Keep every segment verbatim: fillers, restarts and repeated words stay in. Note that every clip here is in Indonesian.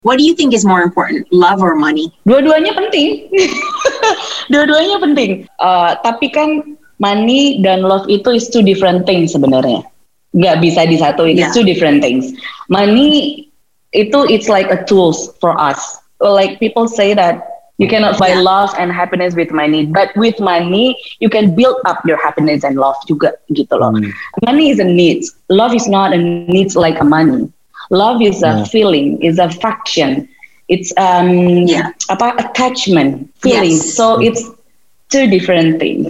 What do you think is more important, love or money? Dua-duanya penting. Dua-duanya penting. Uh, tapi kan money dan love itu is two different things sebenarnya. Nggak bisa disatuin. Yeah. It's two different things. Money itu it's like a tools for us. Like people say that you cannot buy yeah. love and happiness with money, but with money you can build up your happiness and love juga gitu loh. Hmm. Money is a need. Love is not a need like a money. Love is a yeah. feeling, is a fraction. It's um yeah. apa attachment, feeling. Yes. So it's two different things.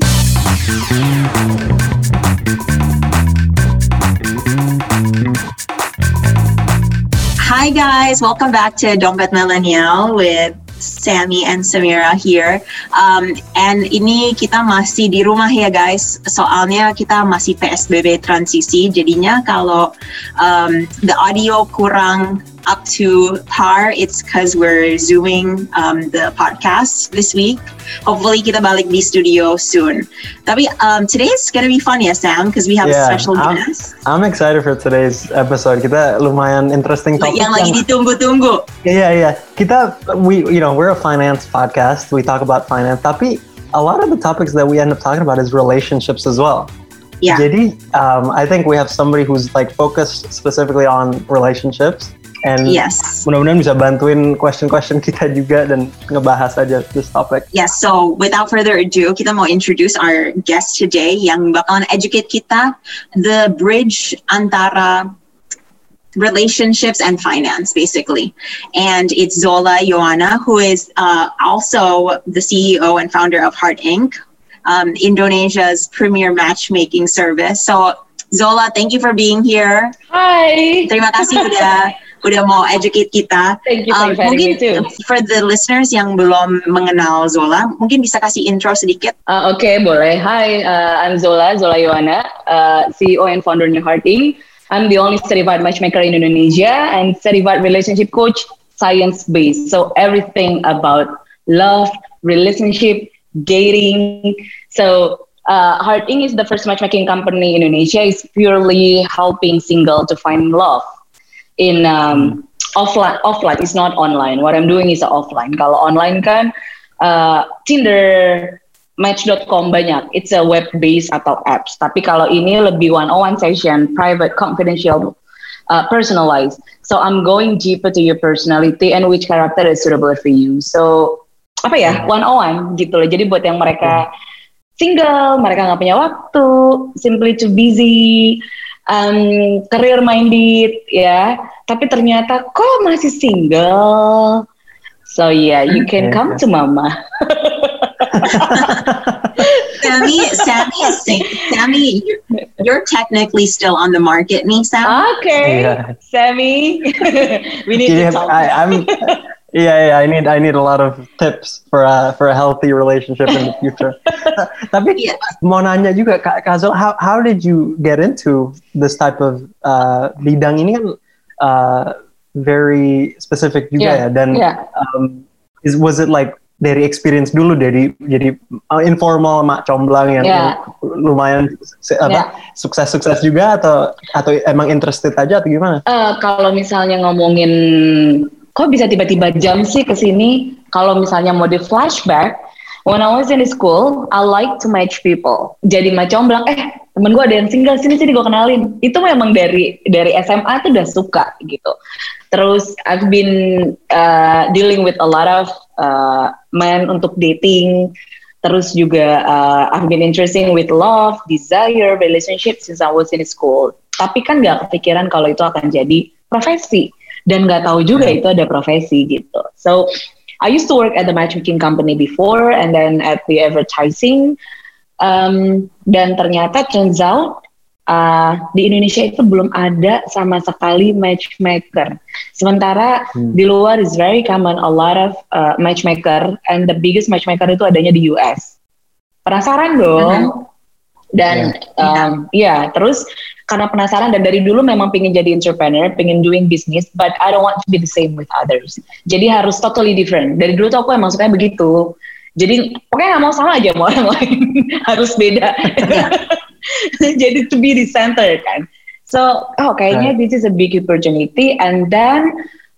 Hi guys, welcome back to Dompet Millennial with Sammy and Samira here. Um, and ini kita masih di rumah ya guys, soalnya kita masih P S B B transisi, jadinya kalau um, the audio kurang up to par, it's because we're zooming um, the podcast this week. Hopefully kita balik di studio soon. Tapi um, today's gonna be fun ya Sam, because we have yeah, a special I'm, guest. I'm excited for today's episode. Kita lumayan interesting topic. Yang lagi ditunggu-tunggu. Yeah, yeah. Kita, we, you know, we're a finance podcast. We talk about finance. Tapi a lot of the topics that we end up talking about is relationships as well. Yeah. Jadi, um, I think we have somebody who's like focused specifically on relationships. And yes. mudah-mudahan bisa bantuin question-question kita juga dan ngebahas aja this topic. Yes, so without further ado, kita mau introduce our guest today yang bakalan educate kita the bridge antara relationships and finance, basically. And it's Zola Ioana, who is uh, also the C E O and founder of Heart Incorporated, um, Indonesia's premier matchmaking service. So Zola, thank you for being here. Hi. Terima kasih udah udah mau educate kita. Thank you for um, mungkin me too. For the listeners yang belum mengenal Zola, mungkin bisa kasih intro sedikit. Uh, Oke, okay, boleh. Hi, uh, I'm Zola, Zola Ioana, uh, C E O and founder of Heart Incorporated. I'm the only certified matchmaker in Indonesia and certified relationship coach, science-based. So everything about love, relationship, dating. So uh, Heart Incorporated is the first matchmaking company in Indonesia. It's purely helping single to find love. In um, offline, offline, it's not online. What I'm doing is offline. Kalau online kan uh, Tinder, Match dot com banyak. It's a web-based atau apps. Tapi kalau ini lebih one-on-one session, private, confidential, uh, personalized. So I'm going deeper to your personality and which character is suitable for you. So apa ya, one-on-one gitu loh. Jadi buat yang mereka single, mereka nggak punya waktu, simply too busy. Um, career minded ya, tapi ternyata kok masih single, so yeah, you can okay, come okay. to Mama. Sammy, Sammy is Sammy. You're, you're technically still on the market, nih Sam. Okay, yeah. Sammy, we need yeah, to talk. I, I'm. Yeah, yeah, I need I need a lot of tips for a for a healthy relationship in the future. Tapi yeah. mau nanya juga Kak Zol, how how did you get into this type of uh, bidang ini kan uh, very specific juga yeah. ya dan yeah. um, is was it like dari experience dulu dari jadi uh, informal mak comblang yang, yeah. yang lumayan apa yeah. sukses-sukses juga atau atau emang interested aja atau gimana? Uh, kalau misalnya ngomongin kok bisa tiba-tiba jam sih ke sini? Kalau misalnya mau di flashback, when I was in school, I like to match people. Jadi macam bilang, eh temen gue ada yang single, sini sini gue kenalin. Itu memang dari dari S M A tuh udah suka gitu. Terus I've been uh, dealing with a lot of uh, men untuk dating. Terus juga uh, I've been interested with love, desire, relationship since I was in school. Tapi kan gak kepikiran kalau itu akan jadi profesi. Dan nggak tahu juga itu ada profesi gitu. So I used to work at the matchmaking company before, and then at the advertising. Um, dan ternyata turns out uh, di Indonesia itu belum ada sama sekali matchmaker. Sementara hmm. di luar is very common, a lot of uh, matchmaker, and the biggest matchmaker itu adanya di U S. Penasaran dong? Mm-hmm. Dan yeah. Um, ya terus karena penasaran dan dari dulu memang pengen jadi entrepreneur, pengen doing business, but I don't want to be the same with others. Jadi harus totally different. Dari dulu tuh aku emang sukanya begitu. Jadi pokoknya nggak mau sama aja mau orang lain, harus beda. Jadi to be the center kan. So oh kayaknya right. this is a big opportunity. And then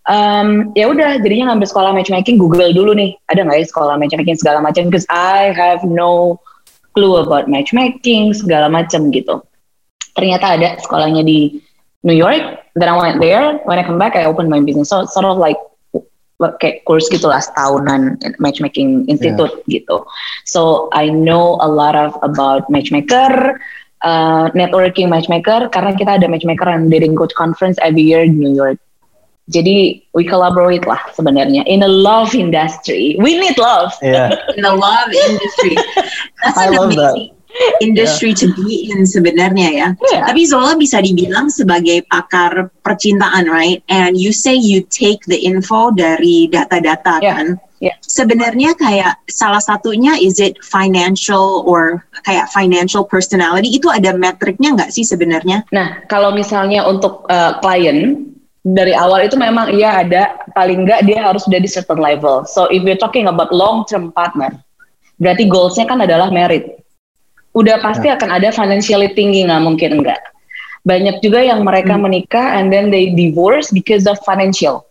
Um, ya udah, jadinya ngambil sekolah matchmaking, Google dulu nih, ada nggak ya sekolah matchmaking segala macam, because I have no clue about matchmaking segala macam gitu. Ternyata ada sekolahnya di New York. Then I went there. When I come back, I opened my business. So sort of like kayak course gitulah, setahunan matchmaking institute yeah. gitu. So I know a lot of about matchmaker, uh, networking matchmaker, karena kita ada matchmaker and dating coach conference every year di New York. Jadi we collaborate lah sebenarnya in a love industry. We need love. Yeah. In the love industry. That's I an love amazing that. industry yeah. to be in sebenarnya ya. Yeah. Tapi Zola bisa dibilang sebagai pakar percintaan, right? And you say you take the info dari data-data yeah. kan? Yeah. Sebenarnya kayak salah satunya, is it financial or kayak financial personality? Itu ada metriknya nggak sih sebenarnya? Nah, kalau misalnya untuk uh, klien dari awal itu memang iya ada, paling nggak dia harus sudah di certain level. So if we're talking about long term partner, berarti goalsnya kan adalah married. Udah pasti yeah. akan ada financially tinggi, nggak mungkin enggak. Banyak juga yang mereka hmm. menikah and then they divorce because of financial.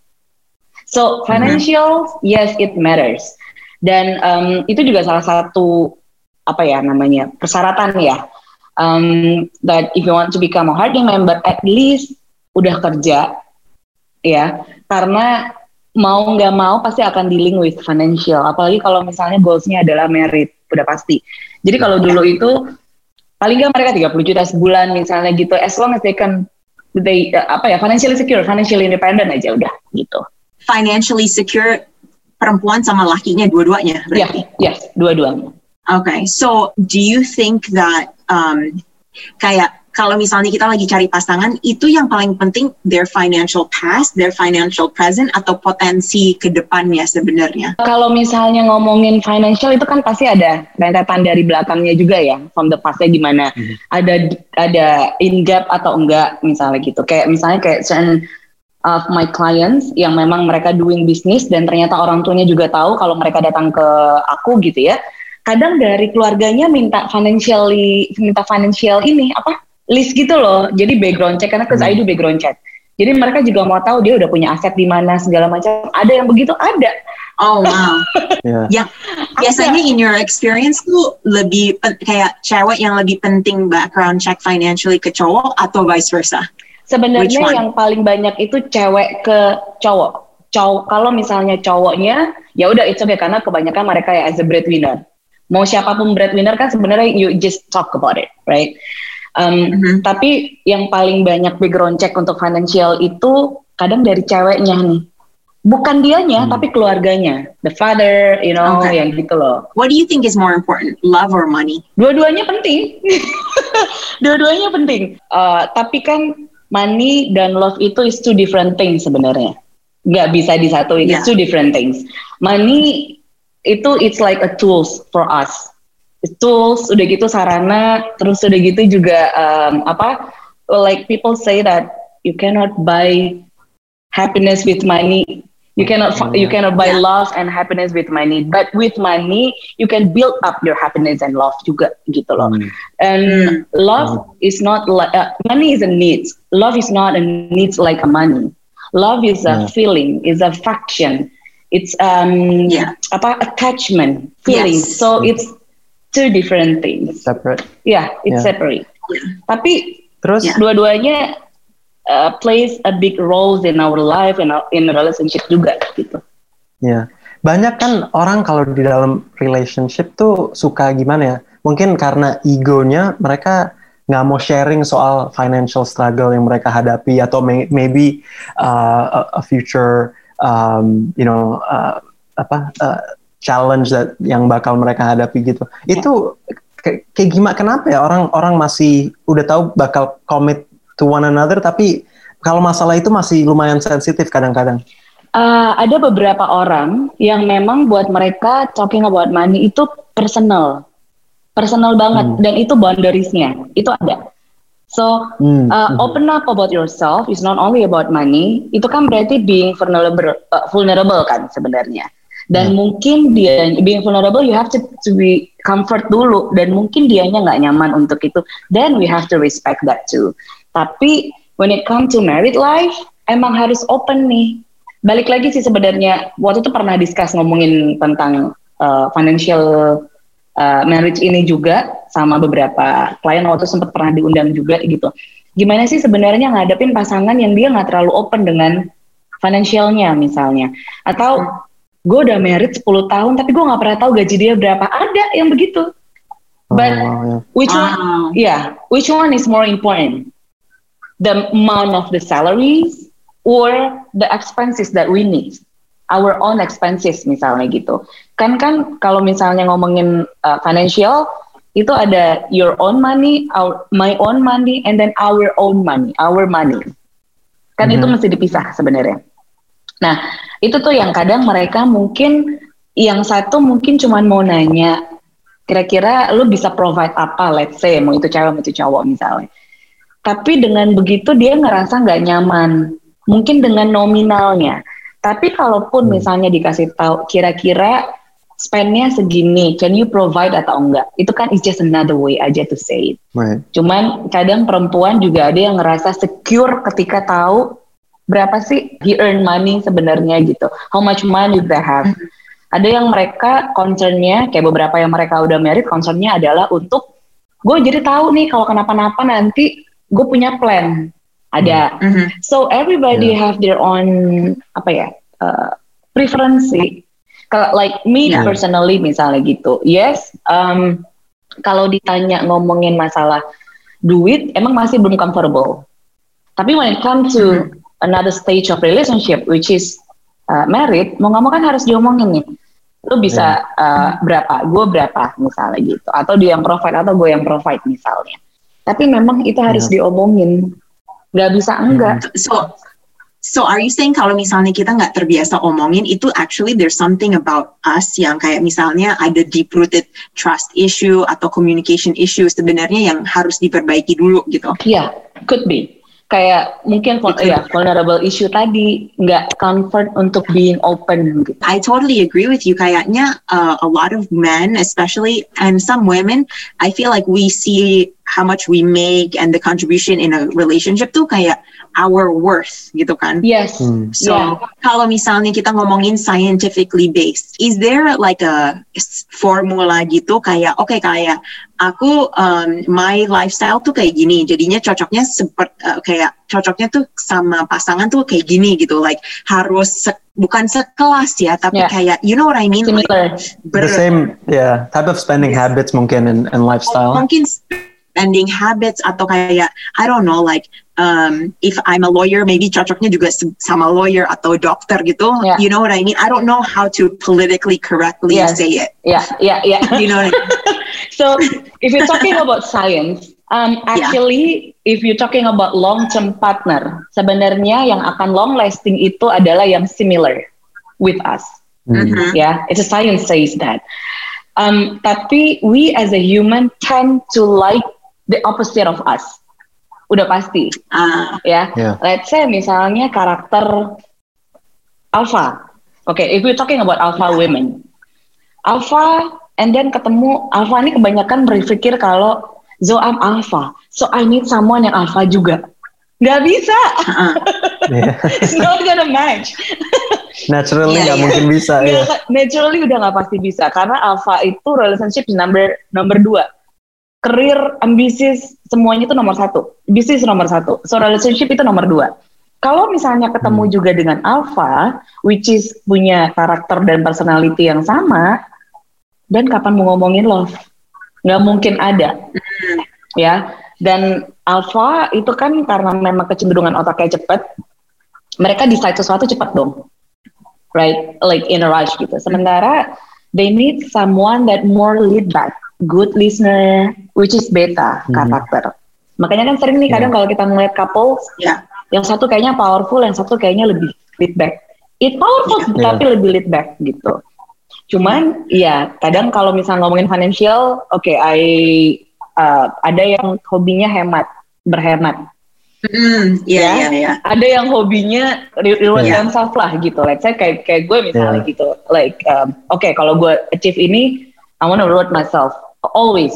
So financial, mm-hmm. yes it matters. Dan um, itu juga salah satu apa ya namanya persyaratan ya. Um, that if you want to become a Heartling member, at least udah kerja. Ya, karena mau nggak mau pasti akan dealing with financial. Apalagi kalau misalnya goalsnya adalah merit, udah pasti. Jadi kalau dulu itu paling nggak mereka tiga puluh juta sebulan misalnya gitu. As long as they can, they uh, apa ya, financially secure, financially independent aja udah gitu. Financially secure perempuan sama lakinya dua-duanya berarti? Yeah, yes, dua-duanya. Okay, so do you think that um, kayak kalau misalnya kita lagi cari pasangan, itu yang paling penting their financial past, their financial present, atau potensi ke depannya sebenarnya? Kalau misalnya ngomongin financial itu kan pasti ada rentetan dari belakangnya juga ya, from the past-nya gimana. Mm-hmm. Ada ada in gap atau enggak misalnya gitu. Kayak misalnya kayak certain of my clients yang memang mereka doing business dan ternyata orang tuanya juga tahu kalau mereka datang ke aku gitu ya. Kadang dari keluarganya minta financially minta financial ini apa? list gitu loh, jadi background check, karena cause hmm. I do background check. Jadi mereka juga mau tahu dia udah punya aset di mana segala macam. Ada yang begitu, ada. Oh wow. yeah. Yang biasanya in your experience tuh lebih kayak cewek yang lebih penting background check financially ke cowok atau vice versa? Sebenarnya yang paling banyak itu cewek ke cowok. Cowok kalau misalnya cowoknya ya udah it's okay karena kebanyakan mereka ya as a breadwinner. Mau siapapun breadwinner kan sebenarnya you just talk about it, right? Um, mm-hmm. Tapi yang paling banyak background check untuk financial itu kadang dari ceweknya nih, bukan dianya hmm. tapi keluarganya, the father, you know, okay. yang gitu loh. What do you think is more important, love or money? Dua-duanya penting, dua-duanya penting. Uh, tapi kan money dan love itu is two different things sebenarnya, nggak bisa disatuin. Yeah. It's two different things. Money itu it's like a tools for us. Tools, udah gitu sarana, terus udah gitu juga um, apa? Like people say that you cannot buy happiness with money. You cannot mm. you cannot buy yeah. love and happiness with money. But with money, you can build up your happiness and love juga gitu loh. Mm. And mm. love mm. is not like uh, money is a need. Love is not a need like a money. Love is a yeah. feeling, is a faction. It's um yeah. apa attachment, feeling. Yes. So it's two different things. Separate. Yeah, it's yeah. separate. Yeah. Tapi terus yeah. dua-duanya uh, plays a big role in our life and in a relationship juga gitu. Ya, yeah. Banyak kan orang kalau di dalam relationship tuh suka gimana ya? Mungkin karena egonya mereka nggak mau sharing soal financial struggle yang mereka hadapi atau may, maybe uh, a, a future, um, you know, uh, apa? Uh, challenge that yang bakal mereka hadapi gitu. Yeah. Itu kayak, kayak gimana? Kenapa ya orang-orang masih udah tahu bakal commit to one another, tapi kalau masalah itu masih lumayan sensitif kadang-kadang. Uh, ada beberapa orang yang memang buat mereka talking about money itu personal, personal banget, hmm. dan itu boundariesnya itu ada. So hmm. Uh, open up about yourself is not only about money. Itu kan berarti being vulnerable, uh, vulnerable kan sebenarnya. Dan hmm. mungkin dia being vulnerable, you have to, to be comfort dulu. Dan mungkin dianya nggak nyaman untuk itu. Then we have to respect that too. Tapi when it comes to married life, emang harus open nih. balik lagi sih sebenarnya waktu itu pernah discuss ngomongin tentang uh, financial uh, marriage ini juga sama beberapa klien waktu sempat pernah diundang juga gitu. Gimana sih sebenarnya ngadepin pasangan yang dia nggak terlalu open dengan financialnya misalnya, atau gue udah married sepuluh tahun tapi gue nggak pernah tahu gaji dia berapa. Ada yang begitu. But Oh, which Wow. one? Yeah, which one is more important? The amount of the salaries or the expenses that we need, our own expenses misalnya gitu. Kan kan kalau misalnya ngomongin uh, financial itu ada your own money, our my own money, and then our own money, our money. Kan Mhm. itu mesti dipisah sebenarnya. Nah itu tuh yang kadang mereka mungkin yang satu mungkin cuman mau nanya kira-kira lu bisa provide apa, let's say mau itu cewek mau itu cowok misalnya. Tapi dengan begitu dia ngerasa nggak nyaman. Mungkin dengan nominalnya. Tapi kalaupun Hmm. misalnya dikasih tahu kira-kira spendnya segini, can you provide atau enggak? Itu kan is just another way aja to say it. Right. Cuman kadang perempuan juga ada yang ngerasa secure ketika tahu berapa sih he earn money sebenarnya gitu. How much money they have. Ada yang mereka concernnya, kayak beberapa yang mereka udah married, concernnya adalah untuk gue jadi tahu nih kalau kenapa-napa nanti gue punya plan. Ada. Mhm. So everybody Yeah. have their own apa ya uh, preferensi. Kalau like me Yeah. personally misalnya gitu, yes. Um, kalau ditanya ngomongin masalah duit, emang masih belum comfortable. Tapi when it comes to another stage of relationship, which is uh, married, mau nggak mau kan harus diomongin nih. Lu bisa uh, berapa, gue berapa misalnya gitu. Atau dia yang provide atau gue yang provide misalnya. Tapi memang itu harus Yeah. diomongin. Nggak bisa enggak. So, so are you saying kalau misalnya kita nggak terbiasa omongin, itu actually there's something about us yang kayak misalnya ada deep-rooted trust issue atau communication issue sebenarnya yang harus diperbaiki dulu gitu? Iya, could be. Kayak mungkin vul- Itu. ya, vulnerable issue tadi, nggak comfort untuk being open gitu. I totally agree with you. Kayaknya uh, a lot of men, especially, and some women, I feel like we see how much we make and the contribution in a relationship tuh kayak our worth gitu kan. Yes, Hmm. So, yeah. kalau misalnya kita ngomongin scientifically based, is there like a s- formula gitu kayak, oke kayak aku, um, my lifestyle tuh kayak gini, jadinya cocoknya seperti kayak cocoknya tuh sama pasangan tuh kayak gini gitu, like harus se- bukan sekelas ya, tapi Yeah. kayak, you know what I mean? Like, Similar. The ber- same, yeah, type of spending Yes. habits mungkin and, and lifestyle. mungkin spending habits atau kayak I don't know like um, if I'm a lawyer maybe cocoknya juga se- sama lawyer atau dokter gitu. Yeah. You know what I mean? I don't know how to politically correctly Yes. say it. Ya, ya, ya. You know what I mean? So if you're talking about science, um, actually if you're talking about long-term partner, sebenarnya yang akan long-lasting itu adalah yang similar with us. Hmm. Mhm. Ya, it's a science says that. Um, tapi we as a human tend to like the opposite of us. Udah pasti, Ah, ya. Yeah. Let's say misalnya karakter alpha. Okay, if we're talking about alpha women, alpha, and then ketemu alpha ini kebanyakan berpikir kalau so I'm alpha, so I need someone yang alpha juga. Nggak bisa, ah. Yeah. it's not gonna match. Naturally Yeah, nggak yeah. mungkin bisa ya. Nggak, naturally udah nggak pasti bisa karena alpha itu relationship number number dua, career, ambisius, semuanya itu nomor satu, bisnis nomor satu, so relationship itu nomor dua. Kalau misalnya ketemu Hmm. juga dengan alpha, which is punya karakter dan personality yang sama, dan kapan mau ngomongin love? Nggak mungkin ada, ya. Dan alpha itu kan karena memang kecenderungan otaknya cepat, mereka decide sesuatu cepat dong, right? Like in a rush gitu. Sementara they need someone that more laid back, good listener, which is beta Mhm. karakter. Makanya kan sering nih kadang Yeah. kalau kita ngeliat couple, Yeah. yang satu kayaknya powerful, yang satu kayaknya lebih laid back. It powerful Yeah. tapi lebih laid back gitu. Cuman ya kadang kalau misalnya ngomongin financial, oke, okay, I uh, ada yang hobinya hemat, berhemat. Mm, yeah, Ya. yeah, yeah. Ada yang hobinya re- reward Yeah. themselves lah gitu. Let's say kayak kayak gue misalnya Yeah. gitu. Like, um, oke okay, kalau gue achieve ini, I want to reward myself always.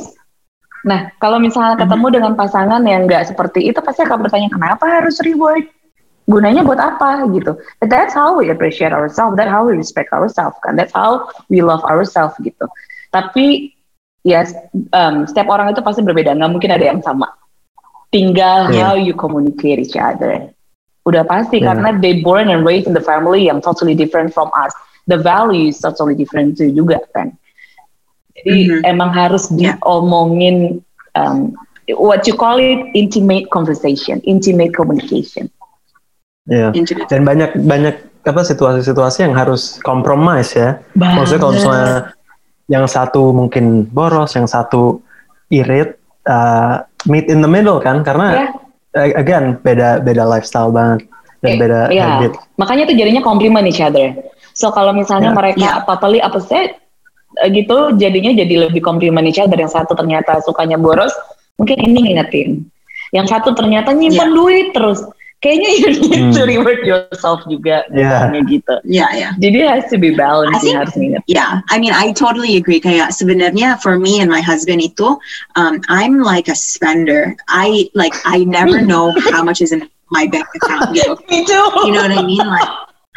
Nah, kalau misalnya ketemu dengan pasangan yang nggak seperti itu, pasti akan bertanya kenapa harus reward? gunanya buat apa gitu. But that's how we appreciate ourselves, that's how we respect ourselves kan, that's how we love ourselves gitu. Tapi yes, um, setiap orang itu pasti berbeda, nggak mungkin ada yang sama. Tinggal yeah. how you communicate each other. Udah pasti yeah. karena they born and raised in the family yang totally different from us. The value is totally different too juga kan. Jadi mm-hmm. emang harus diomongin um, what you call it intimate conversation, intimate communication. Ya. Yeah. Dan banyak banyak apa situasi-situasi yang harus compromise ya. Banget. Maksudnya kalau misalnya yang satu mungkin boros, yang satu irit, uh, meet in the middle kan, karena yeah. again beda beda lifestyle banget dan eh, beda yeah. habit. Makanya tuh jadinya compliment each other. So kalau misalnya yeah. mereka yeah. totally opposite gitu, jadinya jadi lebih compliment each other. Yang satu ternyata sukanya boros, mungkin ini ngingetin. Yang satu ternyata nyimpan yeah. duit terus. Kayaknya you need hmm. to reward yourself juga. Yeah. Gitu. Yeah, yeah. Jadi it has to be balanced. I think, harus ingat. Yeah, I mean, I totally agree. Kayak sebenarnya for me and my husband itu, um, I'm like a spender. I like, I never know how much is in my bank account. Gitu. Me too. You know what I mean? Like,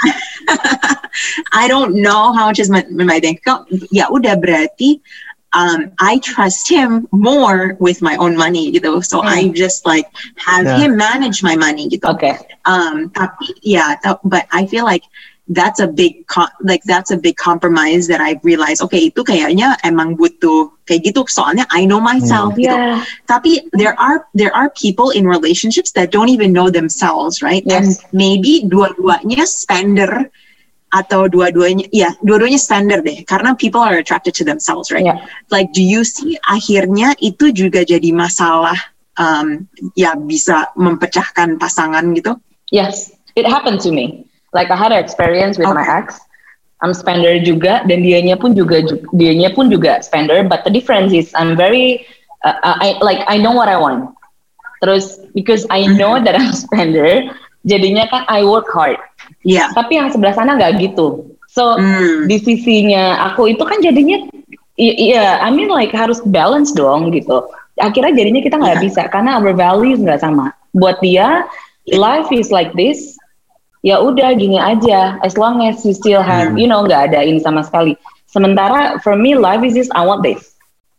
I don't know how much is my, my bank account. Ya udah berarti um, I trust him more with my own money gitu. So mm. I just like have yeah. him manage my money gitu. Okay. Um, tapi yeah, but I feel like that's a big co- like that's a big compromise that I realized. Okay, itu kayaknya emang butuh kayak gitu. Soalnya I know myself mm. gitu. Yeah. Tapi there are there are people in relationships that don't even know themselves, right? Yes. And maybe dua-duanya spender. Atau dua-duanya, ya dua-duanya spender deh, karena people are attracted to themselves, right? Yeah. Like, do you see akhirnya itu juga jadi masalah, um, ya bisa mempecahkan pasangan gitu? Yes, it happened to me. Like I had an experience with okay. my ex. I'm spender juga, dan dianya pun juga dianya pun juga spender. But the difference is I'm very, uh, I like I know what I want. Terus because I know that I'm spender, jadinya kan I work hard. Iya. Yeah. Tapi yang sebelah sana nggak gitu. So mm. di sisinya aku itu kan jadinya, iya, I mean like harus balance dong gitu. Akhirnya jadinya kita nggak yeah. bisa karena our values nggak sama. Buat dia, life is like this. Ya udah gini aja. As long as you still have, mm. you know, nggak ada ini sama sekali. Sementara for me life is this, I want this.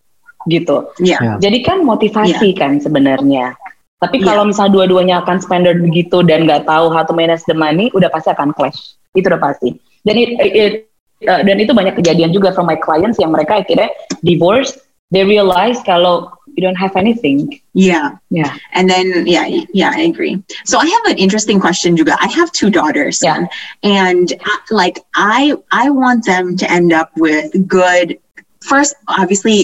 Gitu. Yeah. Yeah. Jadi kan motivasi yeah. kan sebenarnya. Tapi yeah. kalau misalnya dua-duanya akan spender begitu dan nggak tahu how to manage the money, udah pasti akan clash. Itu udah pasti. Dan it, it, uh, dan itu banyak kejadian juga from my clients yang mereka akhirnya divorce. They realize kalau you don't have anything. Yeah. Yeah. And then, yeah, yeah, I agree. So I have an interesting question juga. I have two daughters. Yeah. And uh, like, I, I want them to end up with good, first, obviously,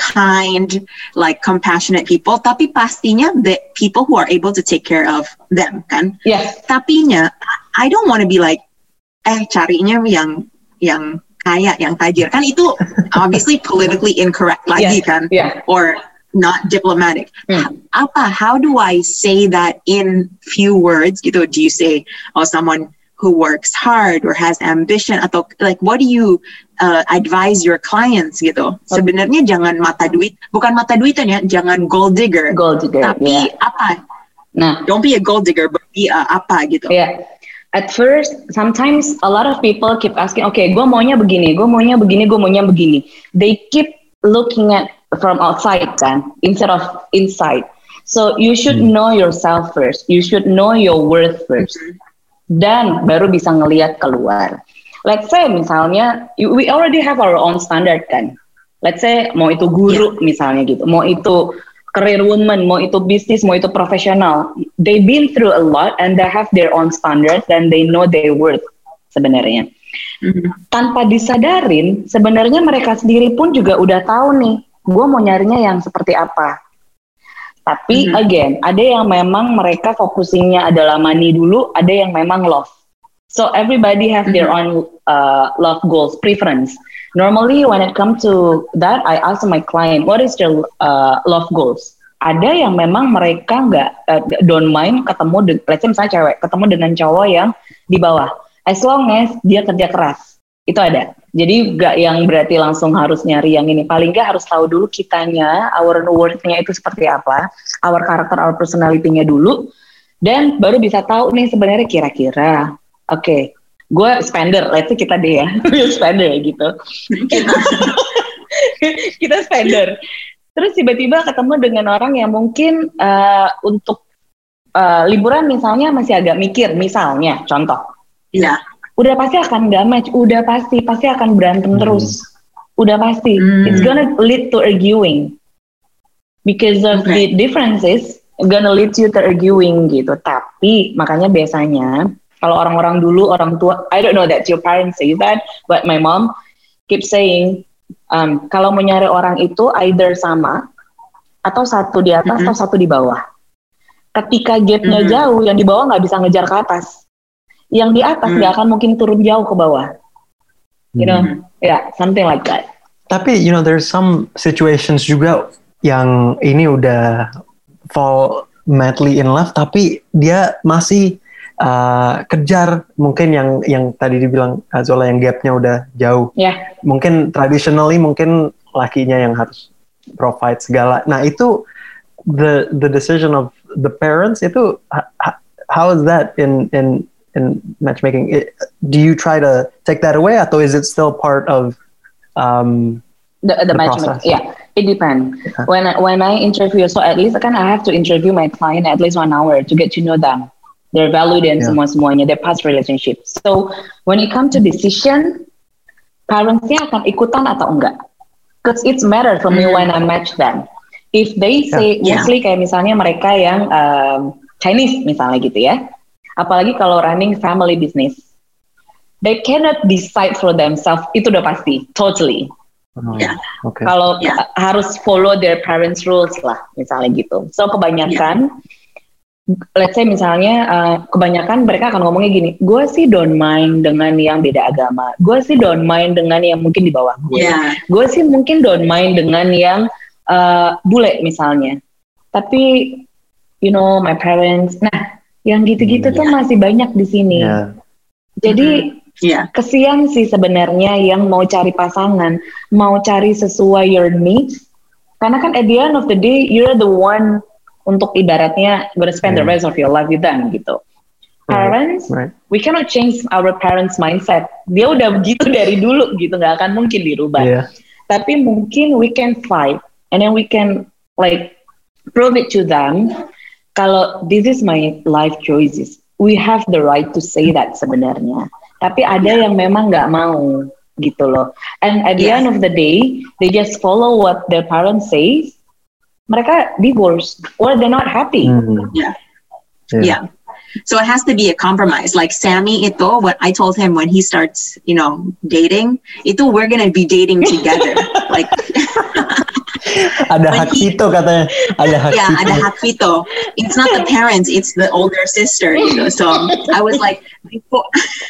kind, like compassionate people, tapi pastinya the people who are able to take care of them, kan? Yes. Tapinya, I don't want to be like, eh carinya yang yang kaya, yang tajir, kan itu obviously politically incorrect lagi, yeah. kan? Yeah. Or not diplomatic. Hmm. Apa? How do I say that in few words? Gitu? Do you say, oh, someone who works hard or has ambition, atau like what do you uh, advise your clients gitu? Okay. Sebenarnya jangan mata duit, bukan mata duitan ya, jangan gold digger. Gold digger. Tapi yeah. apa? Nah, don't be a gold digger, but be a apa gitu. Yeah. At first, sometimes a lot of people keep asking, okay, gue maunya begini, gue maunya begini, gue maunya begini. They keep looking at from outside kan, instead of inside. So you should hmm. know yourself first. You should know your worth first. Mm-hmm. Dan baru bisa ngelihat keluar. Let's say misalnya, we already have our own standard kan. Let's say mau itu guru yeah. misalnya gitu, mau itu career woman, mau itu bisnis, mau itu profesional. They've been through a lot and they have their own standard and they know their worth sebenarnya. Mm-hmm. Tanpa disadarin, sebenarnya mereka sendiri pun juga udah tahu nih, gue mau nyarinya yang seperti apa. Tapi mm-hmm. again, ada yang memang mereka focusingnya adalah money dulu, ada yang memang love. So everybody has mm-hmm. their own uh, love goals, preference. Normally when it comes to that, I ask my client, what is their uh, love goals? Ada yang memang mereka nggak uh, don't mind ketemu, de- let's say misalnya cewek, ketemu dengan cowok yang di bawah. As long as dia kerja keras, itu ada. Jadi gak yang berarti langsung harus nyari yang ini. Paling gak harus tahu dulu kitanya, our worth-nya itu seperti apa, our character, our personality-nya dulu. Dan baru bisa tahu nih sebenarnya kira-kira, oke, okay, gue spender, let's say kita deh ya, spender gitu. Kita, kita spender. Terus tiba-tiba ketemu dengan orang yang mungkin uh, untuk uh, liburan misalnya masih agak mikir, misalnya, contoh. Iya. Udah pasti akan gak match, udah pasti, pasti akan berantem hmm. terus. Udah pasti, hmm. it's gonna lead to arguing. Because of okay. the differences, gonna lead you to arguing gitu. Tapi makanya biasanya kalau orang-orang dulu, orang tua, I don't know that your parents say that, but my mom keeps saying, um, kalau mau nyari orang itu either sama, atau satu di atas, mm-hmm. atau satu di bawah. Ketika gapnya mm-hmm. jauh, yang di bawah nggak bisa ngejar ke atas. Yang di atas nggak mm-hmm. akan mungkin turun jauh ke bawah. You know, mm-hmm. yeah, something like that. Tapi, you know, there's some situations juga yang ini udah fall madly in love, tapi dia masih uh, kejar mungkin yang yang tadi dibilang Zola yang gapnya udah jauh. Yeah. Mungkin traditionally mungkin lakinya yang harus provide segala. Nah itu the the decision of the parents itu how is that in in in matchmaking? It, do you try to take that away atau is it still part of um, the the, the matchmaking? Yeah. It depends. Yeah. When I, when I interview, so at least kan I have to interview my client at least one hour to get to know them, their value dan yeah. semua semuanya, their past relationship. So when it comes to decision, parents-nya akan ikutan atau enggak? Because it's matter for me mm. when I match them. If they say yeah. mostly kayak misalnya mereka yang um, Chinese misalnya gitu ya, apalagi kalau running family business, they cannot decide for themselves. Itu udah pasti, totally. Oh, yeah. okay. Kalau yeah. harus follow their parents' rules lah, misalnya gitu. So kebanyakan, yeah. let's say misalnya uh, kebanyakan mereka akan ngomongnya gini, gue sih don't mind dengan yang beda agama, gue sih don't mind dengan yang mungkin di bawah gue, yeah. gue sih mungkin don't mind dengan yang uh, bule misalnya. Tapi, you know, my parents, nah, yang gitu-gitu yeah. tuh masih banyak di sini. Yeah. Jadi mm-hmm. Yeah. Kesian sih sebenarnya yang mau cari pasangan, mau cari sesuai your needs. Karena kan at the end of the day, you're the one untuk ibaratnya gonna spend yeah. the rest of your life with them gitu. Right. Parents, right. we cannot change our parents' mindset. Dia udah begitu dari dulu gitu, nggak akan mungkin dirubah. Yeah. Tapi mungkin we can fight, and then we can like prove it to them. Kalau this is my life choices, we have the right to say that sebenarnya. Tapi ada yeah. yang memang nggak mau gitu loh. And at the yeah. end of the day, they just follow what their parents say. Mereka divorce or they're not happy. Mm-hmm. Yeah. yeah, yeah. So it has to be a compromise. Like Sammy itu, what I told him when he starts, you know, dating, itu we're gonna be dating together. Like. Ada hak veto katanya. Ada hak yeah, veto. ada hak veto. It's not the parents, it's the older sister. You know? So I was like, before.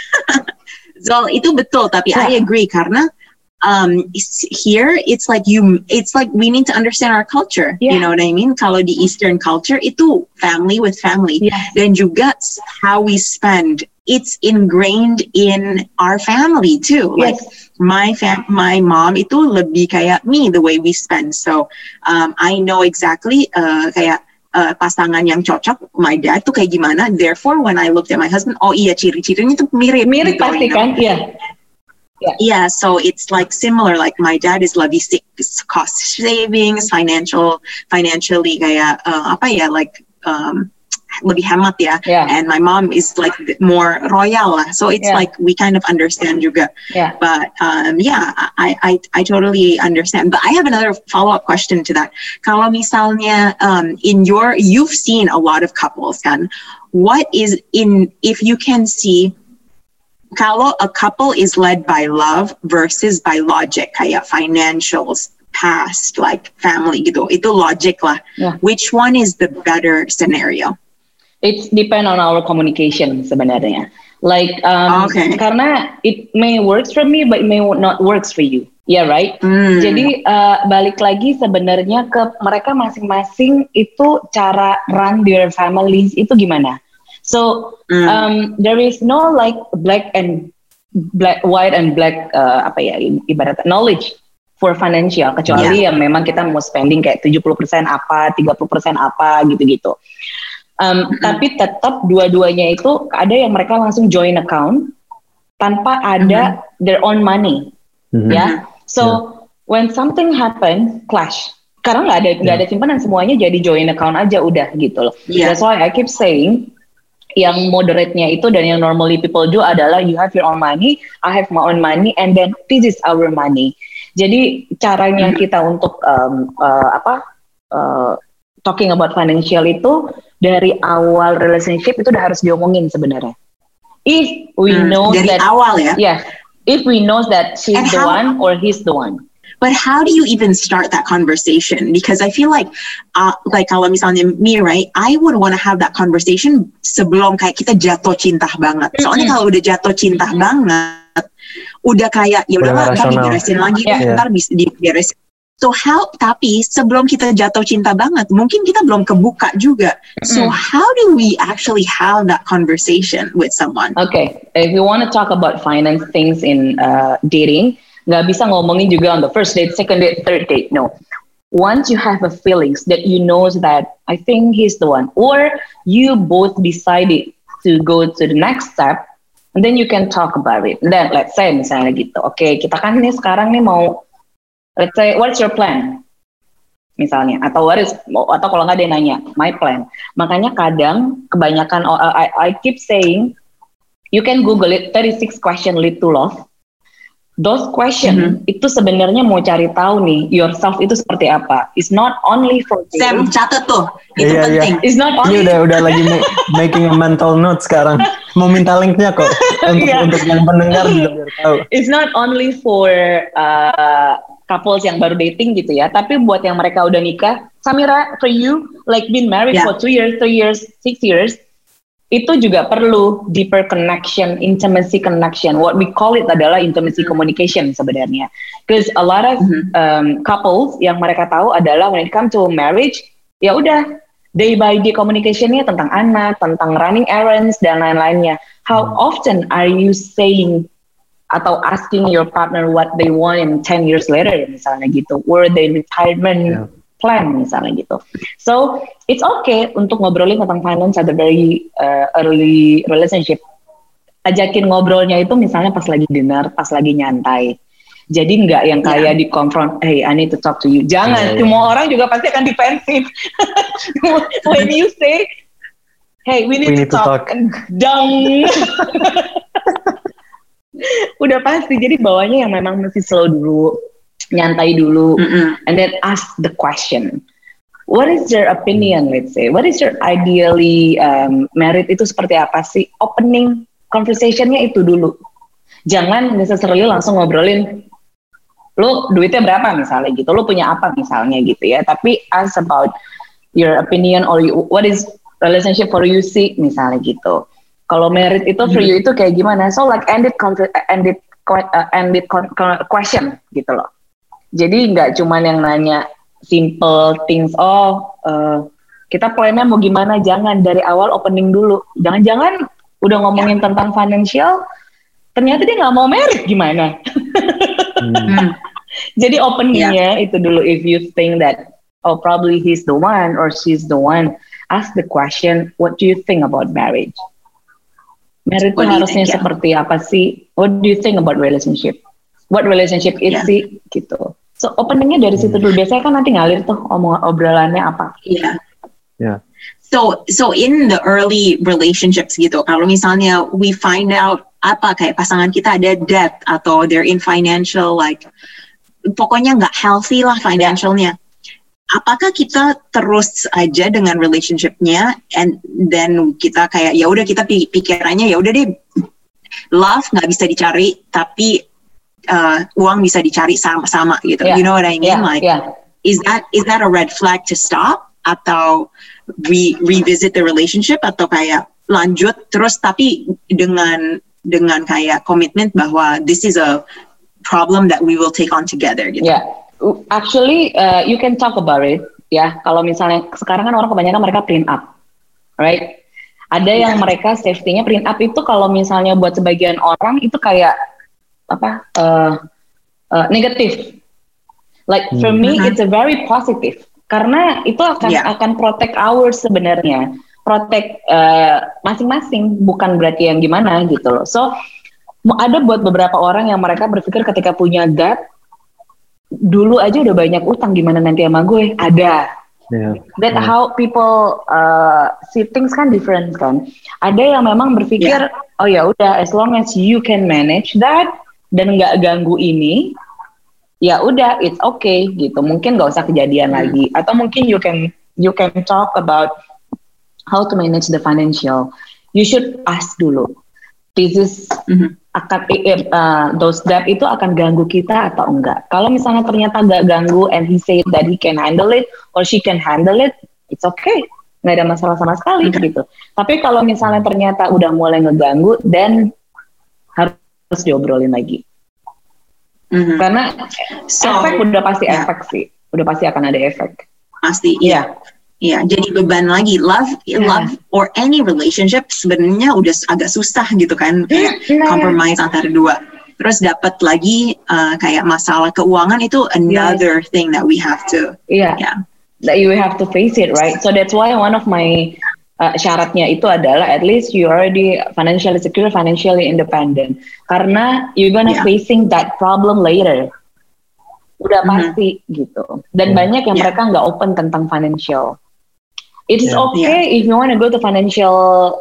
So itu betul, tapi yeah. I agree karena um, here it's like you, it's like we need to understand our culture. Yeah. You know what I mean? Kalau di Eastern culture itu family with family, yeah. dan juga how we spend. It's ingrained in our family too. Yes. Like my fam- my mom itu lebih kayak me the way we spend. So um, I know exactly uh, kayak uh, pasangan yang cocok. My dad tuh kayak gimana. Therefore when I looked at my husband, oh iya ciri-cirinya tuh mirip. Mirip gitu, pasti you know? Kan? Iya. Yeah. yeah, so it's like similar. Like my dad is lebih cost savings, financial, financially kayak uh, apa ya, like um, lebih hemat ya. Yeah. And my mom is like more royal lah. So it's yeah. like we kind of understand juga. Yeah. But um, yeah, I, I I totally understand. But I have another follow-up question to that. Kalau misalnya um, in your, you've seen a lot of couples kan. What is in, if you can see, kalau a couple is led by love versus by logic, kayak financials, past, like family gitu, itu logic lah. Yeah. Which one is the better scenario? It depends on our communication sebenarnya. Like, um, okay. karena it may works for me, but it may not works for you. Yeah, right? Mm. Jadi, uh, balik lagi sebenarnya ke mereka masing-masing itu cara run their families itu gimana. So, mm. um, there is no like black and black, white and black, uh, apa ya, ibaratnya knowledge for financial, kecuali yeah. yang memang kita mau spending kayak tujuh puluh persen apa, tiga puluh persen apa, gitu-gitu. Um, mm-hmm. Tapi tetap dua-duanya itu ada yang mereka langsung join account tanpa ada mm-hmm. their own money, mm-hmm. ya. So yeah. when something happen, clash. Karena nggak ada nggak yeah. ada simpanan, semuanya jadi join account aja udah gitu loh. Yeah. That's why I keep saying yang moderate-nya itu dan yang normally people do adalah you have your own money, I have my own money, and then this is our money. Jadi caranya kita untuk um, uh, apa uh, talking about financial itu dari awal relationship itu udah harus diomongin sebenarnya. If we hmm, know dari that awal ya. Yeah, if we know that she's and the how, one or he's the one. But how do you even start that conversation? Because I feel like, uh, like kalau misalnya me, right? I would want to have that conversation sebelum kayak kita jatuh cinta banget. Soalnya mm-hmm. kalau udah jatuh cinta banget, udah kayak ya udahlah ntar diberesin lagi, yeah. ntar bisa diberesin. So how? Tapi sebelum kita jatuh cinta banget, mungkin kita belum kebuka juga. Mm-hmm. So how do we actually have that conversation with someone? Okay, if you want to talk about finance things in uh, dating. Nggak bisa ngomongin juga on the first date, second date, third date. No. Once you have a feelings that you know that I think he's the one, or you both decided to go to the next step, and then you can talk about it. And then let's say misalnya gitu, oke okay, kita kan ini sekarang nih mau, let's say what's your plan? Misalnya, atau what is, atau kalau nggak dia nanya, my plan. Makanya kadang kebanyakan, uh, I, I keep saying, you can Google it, thirty-six question lead to love. Those question mm-hmm. itu sebenarnya mau cari tahu nih yourself itu seperti apa. It's not only for Sam catat tuh itu yeah, penting. Yeah. It's not only. Ini udah udah lagi ma- making a mental note sekarang. Mau minta linknya kok untuk yeah. untuk yang pendengar juga biar tahu. It's not only for uh, couples yang baru dating gitu ya, tapi buat yang mereka udah nikah. Samira, for you like been married yeah. for two years, three years, six years. Itu juga perlu deeper connection, intimacy connection. What we call it adalah intimacy communication sebenarnya. Because a lot of mm-hmm. um, couples yang mereka tahu adalah when it comes to marriage, ya udah day by day communicationnya tentang anak, tentang running errands dan lain-lainnya. How often are you saying atau asking your partner what they want in ten years later misalnya gitu, or their retirement yeah. plan misalnya gitu. So it's okay untuk ngobrolin tentang finance at the very uh, early relationship. Ajakin ngobrolnya itu misalnya pas lagi dinner, pas lagi nyantai. Jadi nggak yang kayak yeah. di confront, hey I need to talk to you. Jangan, yeah, semua yeah. orang juga pasti akan defensif. When you say, hey we need, we to, need talk, to talk, dong. Udah pasti, jadi bawanya yang memang mesti slow dulu. Nyantai dulu, mm-hmm. and then ask the question. What is your opinion? Let's say, what is your ideally um, married itu seperti apa sih? Opening conversationnya itu dulu. Jangan necessarily langsung ngobrolin, lo duitnya berapa misalnya gitu, lo punya apa misalnya gitu ya. Tapi ask about your opinion or you, what is relationship for you sih misalnya gitu. Kalau married itu for you itu kayak gimana? So like ended ended uh, ended question gitu loh. Jadi nggak cuman yang nanya simple things, oh uh, kita plannya mau gimana, jangan dari awal opening dulu. Jangan-jangan udah ngomongin ya. Tentang financial, ternyata dia nggak mau married gimana. hmm. Jadi openingnya ya. Itu dulu, if you think that, oh probably he's the one or she's the one, ask the question, what do you think about marriage? Marriage itu harusnya think, seperti yeah. apa sih? What do you think about relationship? What relationship is yeah. sih? Gitu. So openingnya dari situ dulu. Biasanya kan nanti ngalir tuh omong obrolannya apa. Iya. Yeah. Yeah. So so in the early relationships gitu, kalau misalnya we find out apa kayak pasangan kita ada debt atau they're in financial like pokoknya nggak healthy lah financialnya. Apakah kita terus aja dengan relationship-nya and then kita kayak ya udah kita pikirannya ya udah deh love nggak bisa dicari tapi Uh, uang bisa dicari sama-sama gitu. Yeah. You know what I mean? Yeah. Like, yeah. is that is that a red flag to stop atau re revisit the relationship atau kayak lanjut terus tapi dengan dengan kayak commitment bahwa this is a problem that we will take on together gitu. Yeah, actually uh, you can talk about it. Ya, kalau misalnya sekarang kan orang kebanyakan mereka print up, right? Ada yang yeah. mereka safety-nya print up itu kalau misalnya buat sebagian orang itu kayak apa uh, uh, negatif. Like for me, mm-hmm. it's a very positive karena itu akan yeah. akan protect ours sebenarnya. protect uh, masing-masing, bukan berarti yang gimana gitu loh. So ada buat beberapa orang yang mereka berpikir ketika punya debt, dulu aja udah banyak utang, gimana nanti sama gue? Ada. Yeah. That yeah. how people uh, see things kan different kan. Ada yang memang berpikir, yeah. oh ya udah, as long as you can manage that dan nggak ganggu ini, ya udah, it's okay gitu. Mungkin nggak usah kejadian hmm. lagi. Atau mungkin you can you can talk about how to manage the financial. You should ask dulu. This is mm-hmm. akan uh, those debt itu akan ganggu kita atau enggak. Kalau misalnya ternyata nggak ganggu and he said that he can handle it or she can handle it, it's okay, nggak ada masalah sama sekali okay. gitu. Tapi kalau misalnya ternyata udah mulai ngeganggu, then harus diobrolin lagi. Mm-hmm. Karena so, efek udah pasti yeah. efek sih, udah pasti akan ada efek. Pasti, iya. Yeah. Iya, jadi beban lagi. Love, yeah. love or any relationship sebenarnya udah agak susah gitu kan, kayak yeah. compromise antara dua. Terus dapat lagi uh, kayak masalah keuangan itu another yes. thing that we have to. Yeah. yeah, that you have to face it, right? So that's why one of my uh, syaratnya itu adalah at least you already financially secure, financially independent. Karena you're gonna yeah. facing that problem later. Udah mm-hmm. pasti gitu. Dan yeah. banyak yang yeah. mereka nggak open tentang financial. It's yeah. okay yeah. if you want to go to financial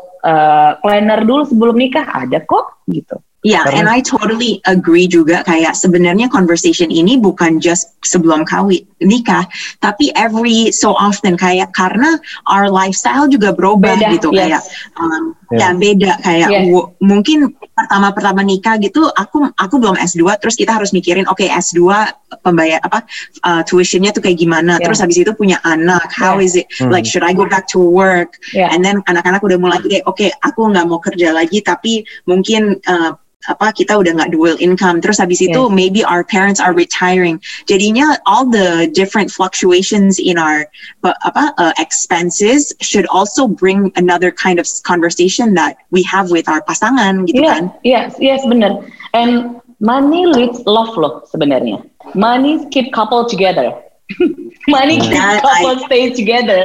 uh, planner dulu sebelum nikah, ada kok gitu. Yeah, and I totally agree juga, kayak sebenarnya conversation ini bukan just sebelum kawin nikah, tapi every so often, kayak karena our lifestyle juga berubah beda, gitu yes. kayak um, yeah. ya beda kayak yes. w- mungkin pertama-pertama nikah gitu aku aku belum S dua, terus kita harus mikirin oke okay, S dua pembayar apa uh, tuitionnya tuh kayak gimana, yeah. terus habis itu punya anak, how yeah. is it hmm. like should I go back to work, yeah. and then anak-anak udah mulai kayak oke okay, aku nggak mau kerja lagi tapi mungkin uh, apa kita udah nggak dual income, terus habis itu yes. maybe our parents are retiring, jadinya all the different fluctuations in our uh, apa uh, expenses should also bring another kind of conversation that we have with our pasangan gitu yeah, kan. Yes, yes benar. And money leads love loh sebenarnya. Money keep couple together. Money keep yeah, couple I, stay together,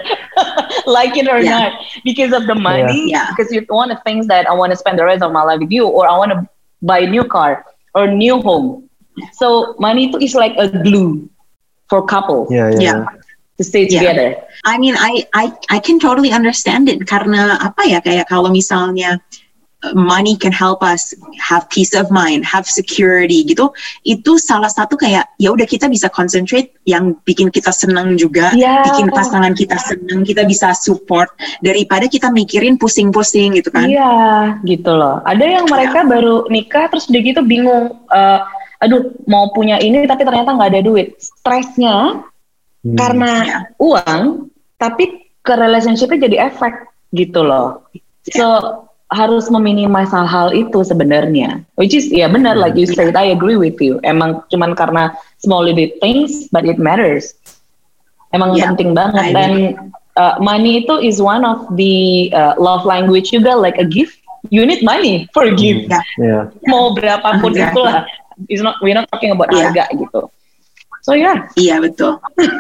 like it or yeah. not, because of the money. Yeah. Because you want to think that I want to spend the rest of my life with you, or I want to buy a new car or new home. So money is like a glue for couples. Yeah, yeah. yeah. To stay together. Yeah. I mean, I I I can totally understand it karena apa ya, kayak kalau misalnya money can help us have peace of mind, have security gitu. Itu salah satu kayak ya udah kita bisa concentrate yang bikin kita senang juga, yeah. bikin pasangan kita senang, kita bisa support daripada kita mikirin pusing-pusing gitu kan. Iya, yeah, gitu loh. Ada yang mereka yeah. baru nikah terus udah gitu bingung, uh, aduh mau punya ini tapi ternyata nggak ada duit. Stresnya hmm. karena yeah. uang, tapi ke relationship-nya jadi efek gitu loh. Yeah. So harus meminimasi hal-hal itu sebenarnya, which is ya benar, like you said, I agree with you. Emang cuman karena small little things, but it matters. Emang yeah, penting banget. Dan uh, money itu is one of the uh, love language juga, like a gift. You need money for a gift. Yeah. Yeah. Mau berapapun yeah. itulah. It's not, we're not talking about yeah. harga gitu. So yeah. Iya yeah, betul.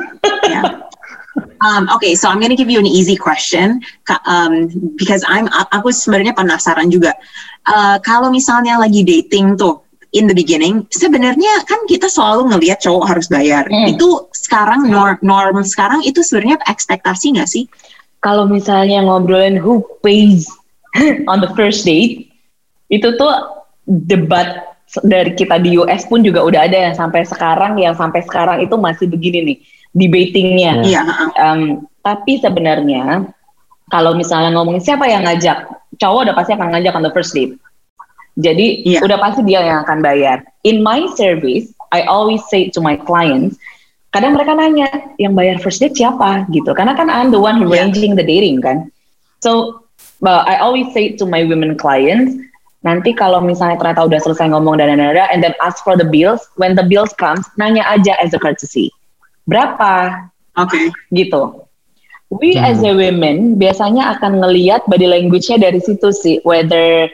yeah. Um, okay, so I'm going to give you an easy question um, because I'm aku sebenarnya penasaran juga. Uh, kalau misalnya lagi dating tuh in the beginning, sebenarnya kan kita selalu ngelihat cowok harus bayar. Hmm. Itu sekarang norm, norm sekarang itu sebenarnya ekspektasi nggak sih? Kalau misalnya ngobrolin who pays on the first date, itu tuh debat dari kita di U S pun juga udah ada yang sampai sekarang, yang sampai sekarang itu masih begini nih. Debatingnya, yeah. um, tapi sebenarnya kalau misalnya ngomongin siapa yang ngajak, cowok udah pasti akan ngajak on the first date. Jadi yeah. udah pasti dia yang akan bayar. In my service, I always say to my clients, kadang mereka nanya, yang bayar first date siapa gitu? Karena kan I'm the one who yeah. arranging the dating kan. So uh, I always say to my women clients, nanti kalau misalnya ternyata udah selesai ngomong dan dan dan, and then ask for the bills. When the bills comes, nanya aja as a courtesy. Berapa? Oke. Okay. Gitu. We hmm. as a women biasanya akan ngelihat body language-nya dari situ sih, whether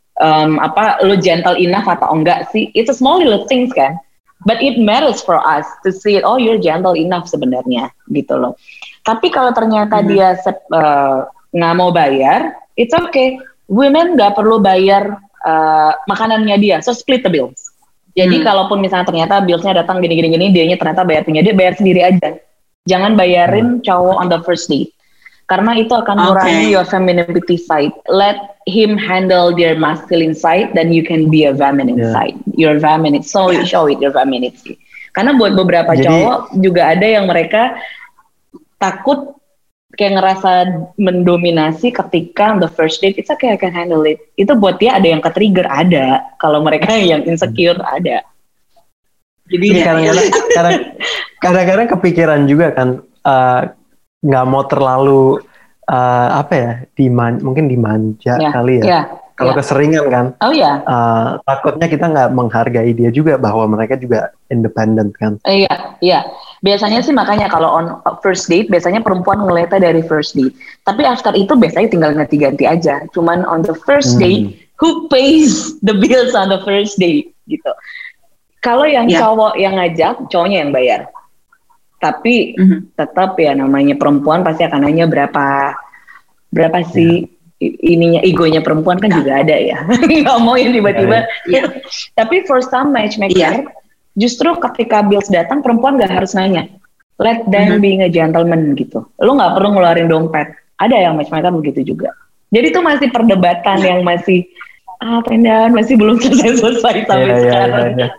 um, apa lu gentle enough atau enggak sih. It's a small little things kan, but it matters for us to see it. Oh, you're gentle enough sebenarnya, gitu loh. Tapi kalau ternyata hmm. dia uh, nggak mau bayar, it's okay. Women nggak perlu bayar uh, makanannya dia, so split the bills. Jadi hmm. kalaupun misalnya ternyata billsnya datang gini-gini-gini, dianya ternyata bayar punya dia, bayar sendiri aja. Jangan bayarin cowok on the first date. Karena itu akan mengurangi okay. your femininity side. Let him handle their masculine side, then you can be a feminine yeah. side. Your feminine, so you show it your femininity. Karena buat beberapa Jadi, cowok juga ada yang mereka takut kayak ngerasa mendominasi ketika on the first date. It's okay, I can handle it. Itu buat dia ada yang ke-trigger, ada. Kalau mereka yang insecure, ada. Jadi kadang-kadang, kadang, kadang-kadang kepikiran juga kan nggak uh, mau terlalu uh, apa ya diman, mungkin dimanja yeah, kali ya. Yeah, Kalau yeah. keseringan kan, oh ya, yeah. uh, takutnya kita nggak menghargai dia juga bahwa mereka juga independent kan. Iya, uh, iya. Yeah. Biasanya sih makanya kalau on first date biasanya perempuan ngeliatnya dari first date. Tapi after itu biasanya tinggal ganti-ganti aja. Cuman on the first date, hmm. who pays the bills on the first date gitu. Kalau yang yeah. cowok yang ngajak, cowoknya yang bayar. Tapi mm-hmm. tetap ya namanya perempuan pasti akan nanya berapa berapa sih yeah. ininya, egonya perempuan kan yeah. juga ada ya. Nggak mau yang tiba-tiba. Yeah. Tapi for some matchmaker, yeah. justru ketika bills datang perempuan nggak harus nanya. Let them mm-hmm. being a gentleman gitu. Lu nggak perlu ngeluarin dompet. Ada yang matchmaker begitu juga. Jadi itu masih perdebatan yeah. yang masih ah pendan masih belum selesai-selesai sampai yeah, sekarang. Yeah, yeah, yeah.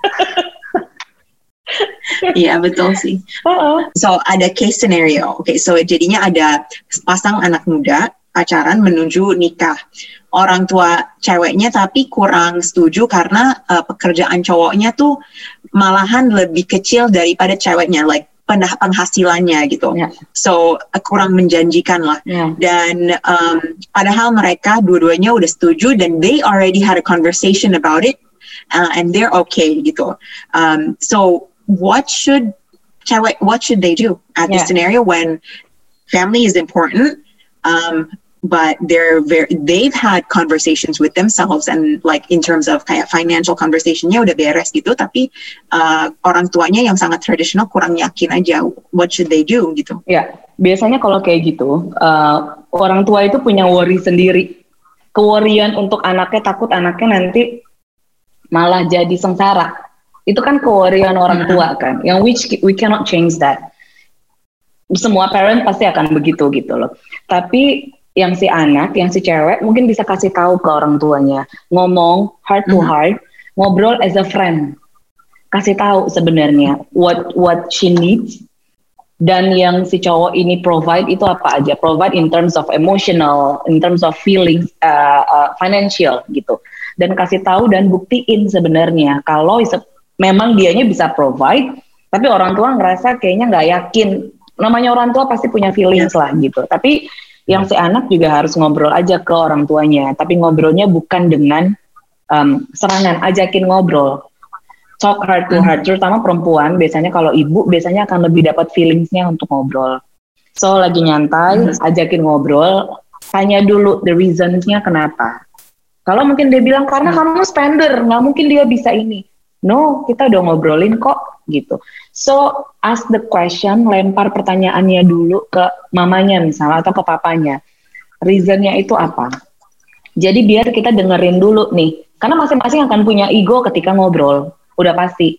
Iya betul sih. Uh-uh. So ada case scenario. Oke, okay, so jadinya ada pasang anak muda pacaran menuju nikah. Orang tua ceweknya tapi kurang setuju karena uh, pekerjaan cowoknya tuh malahan lebih kecil daripada ceweknya, like penghasilannya gitu. Yeah. So uh, kurang menjanjikan lah. Yeah. Dan um, padahal mereka dua-duanya udah setuju dan they already had a conversation about it uh, and they're okay gitu. Um, so what should cewek, what should they do at yeah. this scenario when family is important, um, but they're very, they've had conversations with themselves and like in terms of kayak financial conversationnya udah beres gitu, tapi uh, orang tuanya yang sangat tradisional kurang yakin aja. What should they do gitu? Ya, biasanya kalau kayak gitu, uh, orang tua itu punya worry sendiri. Keworian untuk anaknya, takut anaknya nanti malah jadi sengsara. Itu kan kewarian orang tua kan, yang which we cannot change that. Semua parent pasti akan begitu gitu loh. Tapi yang si anak, yang si cewek mungkin bisa kasih tahu ke orang tuanya, ngomong heart to heart, mm-hmm. ngobrol as a friend, kasih tahu sebenarnya what what she needs dan yang si cowok ini provide itu apa aja, provide in terms of emotional, in terms of feelings, uh, uh, financial gitu, dan kasih tahu dan buktiin sebenarnya kalau memang dianya bisa provide, tapi orang tua ngerasa kayaknya nggak yakin. Namanya orang tua pasti punya feelings lah gitu. Tapi yang si anak juga harus ngobrol aja ke orang tuanya. Tapi ngobrolnya bukan dengan um, serangan, ajakin ngobrol. Talk heart to heart. Terutama perempuan, biasanya kalau ibu biasanya akan lebih dapat feelingsnya untuk ngobrol. So lagi nyantai, ajakin ngobrol, tanya dulu the reasons-nya kenapa. Kalau mungkin dia bilang karena kamu spender, nggak mungkin dia bisa ini. No, kita udah ngobrolin kok gitu. So ask the question, lempar pertanyaannya dulu ke mamanya misalnya atau ke papanya. Reasonnya itu apa? Jadi biar kita dengerin dulu nih. Karena masing-masing akan punya ego ketika ngobrol, udah pasti.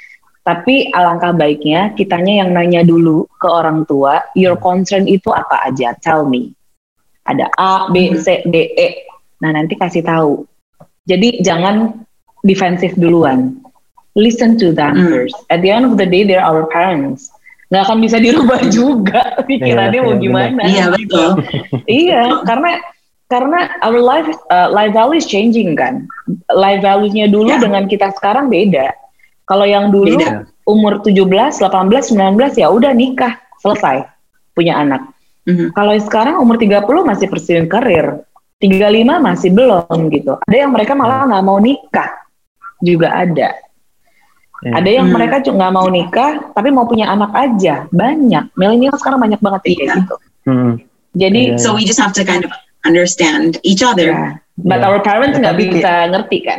Tapi alangkah baiknya kitanya yang nanya dulu ke orang tua, your concern itu apa aja? Tell me. Ada A, B, C, D, E. Nah nanti kasih tahu. Jadi jangan defensif duluan. Listen to them mm. first. At the end of the day, they're our parents. Nggak akan bisa dirubah juga pikirannya mau gimana. Iya betul. Iya, karena karena our life uh, life value is changing kan. Life value-nya dulu yeah. dengan kita sekarang beda. Kalau yang dulu beda. Umur tujuh belas, delapan belas, sembilan belas ya udah nikah, selesai, punya anak. Mm-hmm. Kalau sekarang umur tiga puluh masih pursuing karir, tiga puluh lima masih belum gitu. Ada yang mereka malah nggak mau nikah, juga ada. Yeah. Ada yang hmm. mereka juga nggak mau nikah, tapi mau punya anak aja. Banyak. Milenial sekarang banyak banget kayak yeah. gitu. Hmm. Jadi, so we just have to kind of understand each other. Yeah. But yeah. our parents nggak ya, bisa kayak, ngerti kan?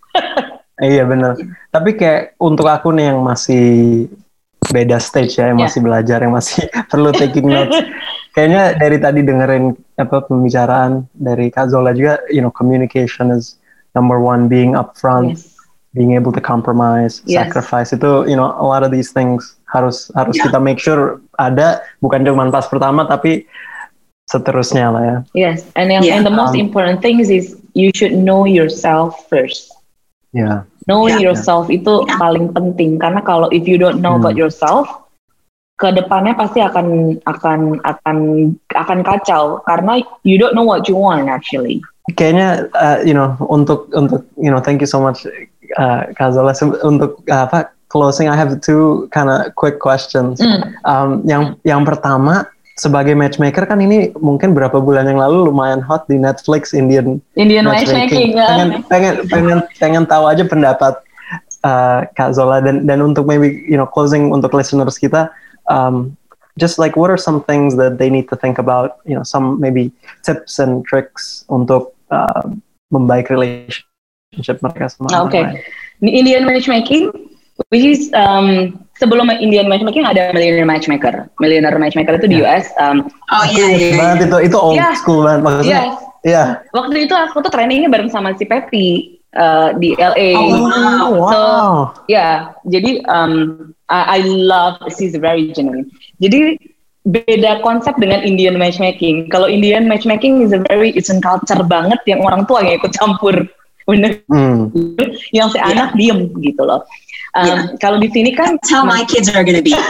Iya benar. Tapi kayak untuk aku nih yang masih beda stage ya, yang yeah. masih belajar, yang masih perlu taking notes. kayaknya dari tadi dengerin apa pembicaraan dari Kak Zola juga, you know, communication is number one, being upfront, yes. being able to compromise, yes. sacrifice itu, you know, a lot of these things harus harus yeah. kita make sure ada, bukan cuma pas pertama tapi seterusnya lah ya. Yes, and yang, yeah. and the most um, important thing is you should know yourself first. Yeah. Knowing yeah. yourself yeah. itu yeah. paling penting, karena kalau if you don't know hmm. about yourself, kedepannya pasti akan akan akan akan kacau karena you don't know what you want actually. Kayaknya uh, you know untuk untuk you know thank you so much uh, Kak Zola untuk uh, apa closing. I have two kind of quick questions. Mm. Um, yang yang pertama, sebagai matchmaker kan ini mungkin berapa bulan yang lalu lumayan hot di Netflix, Indian Indian matchmaking. matchmaking. Pengen, pengen pengen pengen tahu aja pendapat uh, Kak Zola, dan dan untuk maybe you know closing untuk listeners kita. Um, just like what are some things that they need to think about, you know, some maybe tips and tricks untuk uh, membaik relationship mereka sama orang okay. lain. Di Indian matchmaking, which is um, sebelum Indian matchmaking ada millionaire matchmaker. Millionaire matchmaker itu di yeah. U S. Um, oh iya, iya, iya. Banget itu, itu old yeah. school banget maksudnya. Iya. Yes. Yeah. Waktu itu aku tuh trainingnya bareng sama si Pepi uh, di L A. Oh wow. So ya, yeah, jadi um, I, I love, she's very genuine. Jadi beda konsep dengan Indian matchmaking. Kalau Indian matchmaking is a very it's a culture banget yang orang tua yang ikut campur, bener. Mm. Yang si anak yeah. diem gitu loh. Um, yeah. Kalau di sini kan, that's how my kids are gonna be.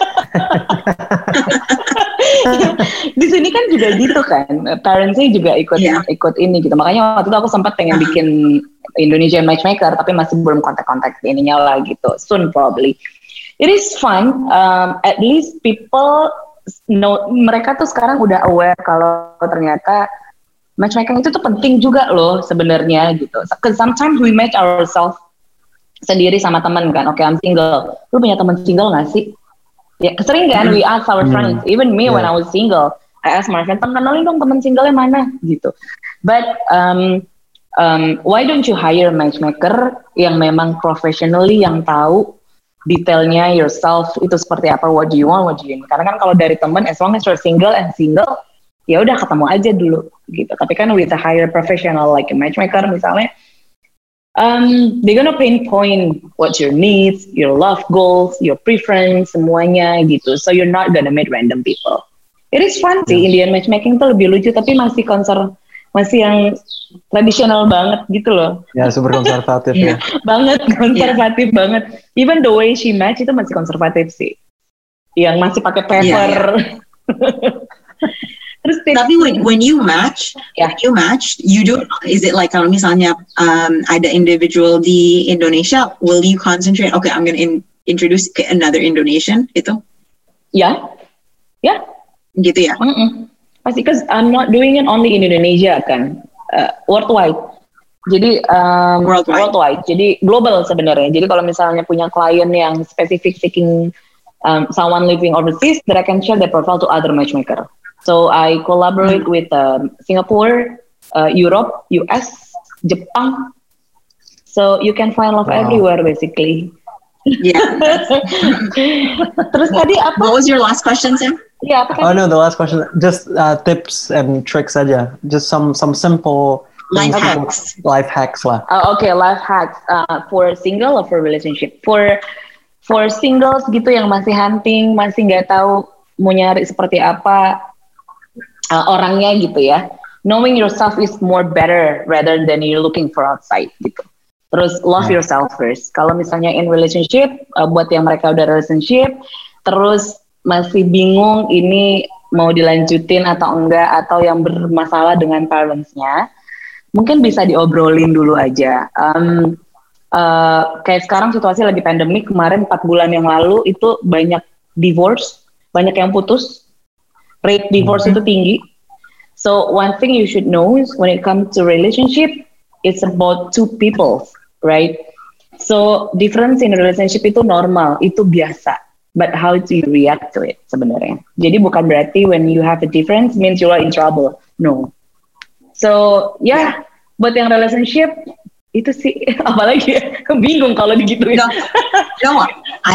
Di sini kan juga gitu kan, parentsnya juga ikut yeah. ikut ini gitu. Makanya waktu itu aku sempat pengen bikin Indonesian matchmaker, tapi masih belum kontak-kontak ininya lah gitu. Soon probably. It is fun. Um, at least people know, mereka tuh sekarang udah aware kalau ternyata matchmaking itu tuh penting juga loh sebenarnya gitu. Because sometimes we match ourselves sendiri sama teman kan. Oke, okay, I'm single. Lu punya teman single nggak sih? Ya, sering kan we ask our friends. Even me yeah. when I was single, I ask my friend, kenalin dong teman singlenya mana gitu. But um, um, why don't you hire a matchmaker yang memang professionally yang tahu detailnya yourself itu seperti apa, what do you want, what do you need. Karena kan kalau dari teman, as long as you're single and single, ya udah ketemu aja dulu gitu. Tapi kan with a higher professional like a matchmaker misalnya, um, they're gonna pinpoint what's your needs, your love goals, your preference, semuanya gitu. So you're not gonna meet random people. It is fun sih, Indian matchmaking tuh lebih lucu, tapi masih konser, masih yang tradisional banget gitu loh. Ya, super konservatif ya. Banget, konservatif yeah. banget. Even the way she match itu masih konservatif sih. Yang masih pakai paper. Yeah, yeah. Terus tapi when, when you match, yeah. when you match, you do, is it like kalau misalnya um, ada individual di Indonesia, will you concentrate, okay, I'm going to in, introduce another Indonesian itu? Ya. Yeah. Ya. Yeah. Gitu ya? Mm-mm. Pasti, because I'm not doing it only in Indonesia kan, uh, worldwide. Jadi um, worldwide. worldwide. Jadi global sebenarnya. Jadi kalau misalnya punya klien yang specific seeking um, someone living overseas, that I can share their profile to other matchmaker. So I collaborate mm. with um, Singapore, uh, Europe, U S, Jepang. So you can find love wow. everywhere basically. Yeah. Terus tadi apa? What was your last question, Sam? Yeah. Oh no, the last question. Just uh, tips and tricks aja. Just some some simple life hacks. Life hacks lah. Uh, okay, life hacks uh, for single or for relationship. For for singles gitu yang masih hunting, masih nggak tahu mau nyari seperti apa uh, orangnya gitu ya. Knowing yourself is more better rather than you looking for outside gitu. Terus love yeah. yourself first. Kalau misalnya in relationship, uh, buat yang mereka udah relationship, terus masih bingung ini mau dilanjutin atau enggak, atau yang bermasalah dengan parents-nya, mungkin bisa diobrolin dulu aja. Um, uh, kayak sekarang situasi lagi pandemik, kemarin empat bulan yang lalu itu banyak divorce, banyak yang putus, rate divorce mm-hmm. itu tinggi. So one thing you should know is when it comes to relationship, it's about two people, right? So difference in a relationship itu normal, itu biasa. But how do you react to it sebenarnya? Jadi bukan berarti when you have a difference means you are in trouble. No. So ya, yeah, buat yang relationship itu sih apalagi ya, bingung kalau digituin. No, no, I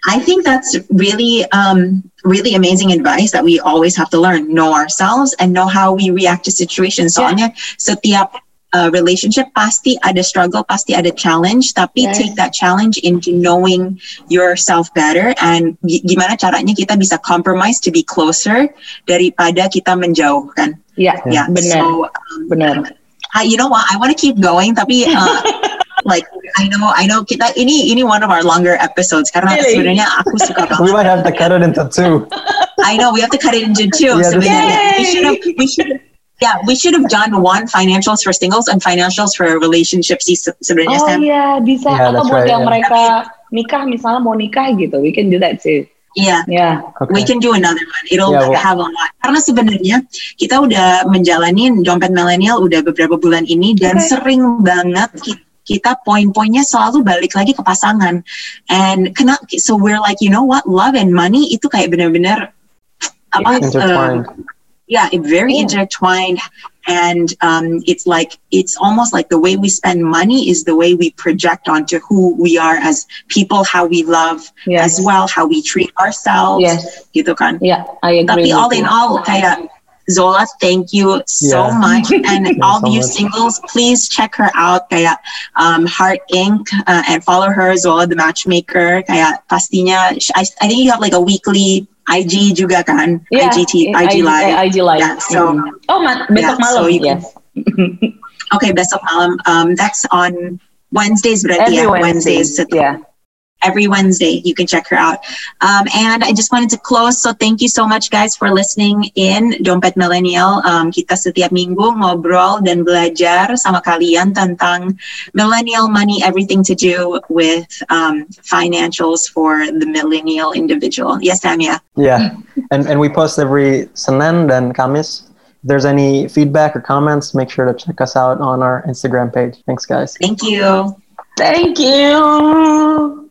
I think that's really, um, really amazing advice that we always have to learn. Know ourselves and know how we react to situations. Soalnya yeah. setiap uh, relationship pasti ada struggle, pasti ada challenge. Tapi yes. take that challenge into knowing yourself better and g- gimana caranya kita bisa compromise to be closer daripada kita menjauh kan. Yeah, yeah. Benar. So, um, benar. I, you know what? I want to keep going, tapi. Uh, Like I know, I know kita ini ini one of our longer episodes karena really? sebenarnya aku suka banget. We might have to cut it into two. I know we have to cut it into two. Yeah, sebenarnya we should have we should yeah we should have done one financials for singles and financials for relationships sebenarnya. Oh iya yeah, bisa. Yeah, atau buat right, yang yeah. mereka nikah misalnya mau nikah gitu, we can do that too. Yeah, yeah. Okay. We can do another one. It'll yeah, well, have a lot. Karena sebenarnya kita udah menjalanin Dompet Millennial udah beberapa bulan ini dan okay. sering banget kita kita poin-poinnya selalu balik lagi ke pasangan. And kena, so we're like, you know what, love and money itu kayak benar-benar apa? Intertwined. Uh, yeah, it very yeah. intertwined. And um, it's like, it's almost like the way we spend money is the way we project onto who we are as people, how we love yes. as well, how we treat ourselves. Yes. Gitu kan? Yeah, I agree. Tapi all in all, kayak, Zola, thank you so yeah. much. And all so you much. Singles, please check her out. Kayak um, Heart Incorporated uh, and follow her, Zola the Matchmaker. Kayak pastinya, I, I think you have like a weekly I G juga kan? Yeah, I G, T, I G Live. I G Live. Yeah, so, mm-hmm. Oh, ma- besok yeah, malam. So yes. Okay, besok malam. Um, that's on Wednesdays, berarti Every ya? Wednesday. Wednesdays. Yeah. Every Wednesday, you can check her out. Um, and I just wanted to close. So thank you so much, guys, for listening in Dompet Millennial. Um, kita setiap minggu ngobrol dan belajar sama kalian tentang millennial money, everything to do with um, financials for the millennial individual. Yes, Samia? Yeah. And and we post every Senin dan Kamis. If there's any feedback or comments, make sure to check us out on our Instagram page. Thanks, guys. Thank you. Thank you.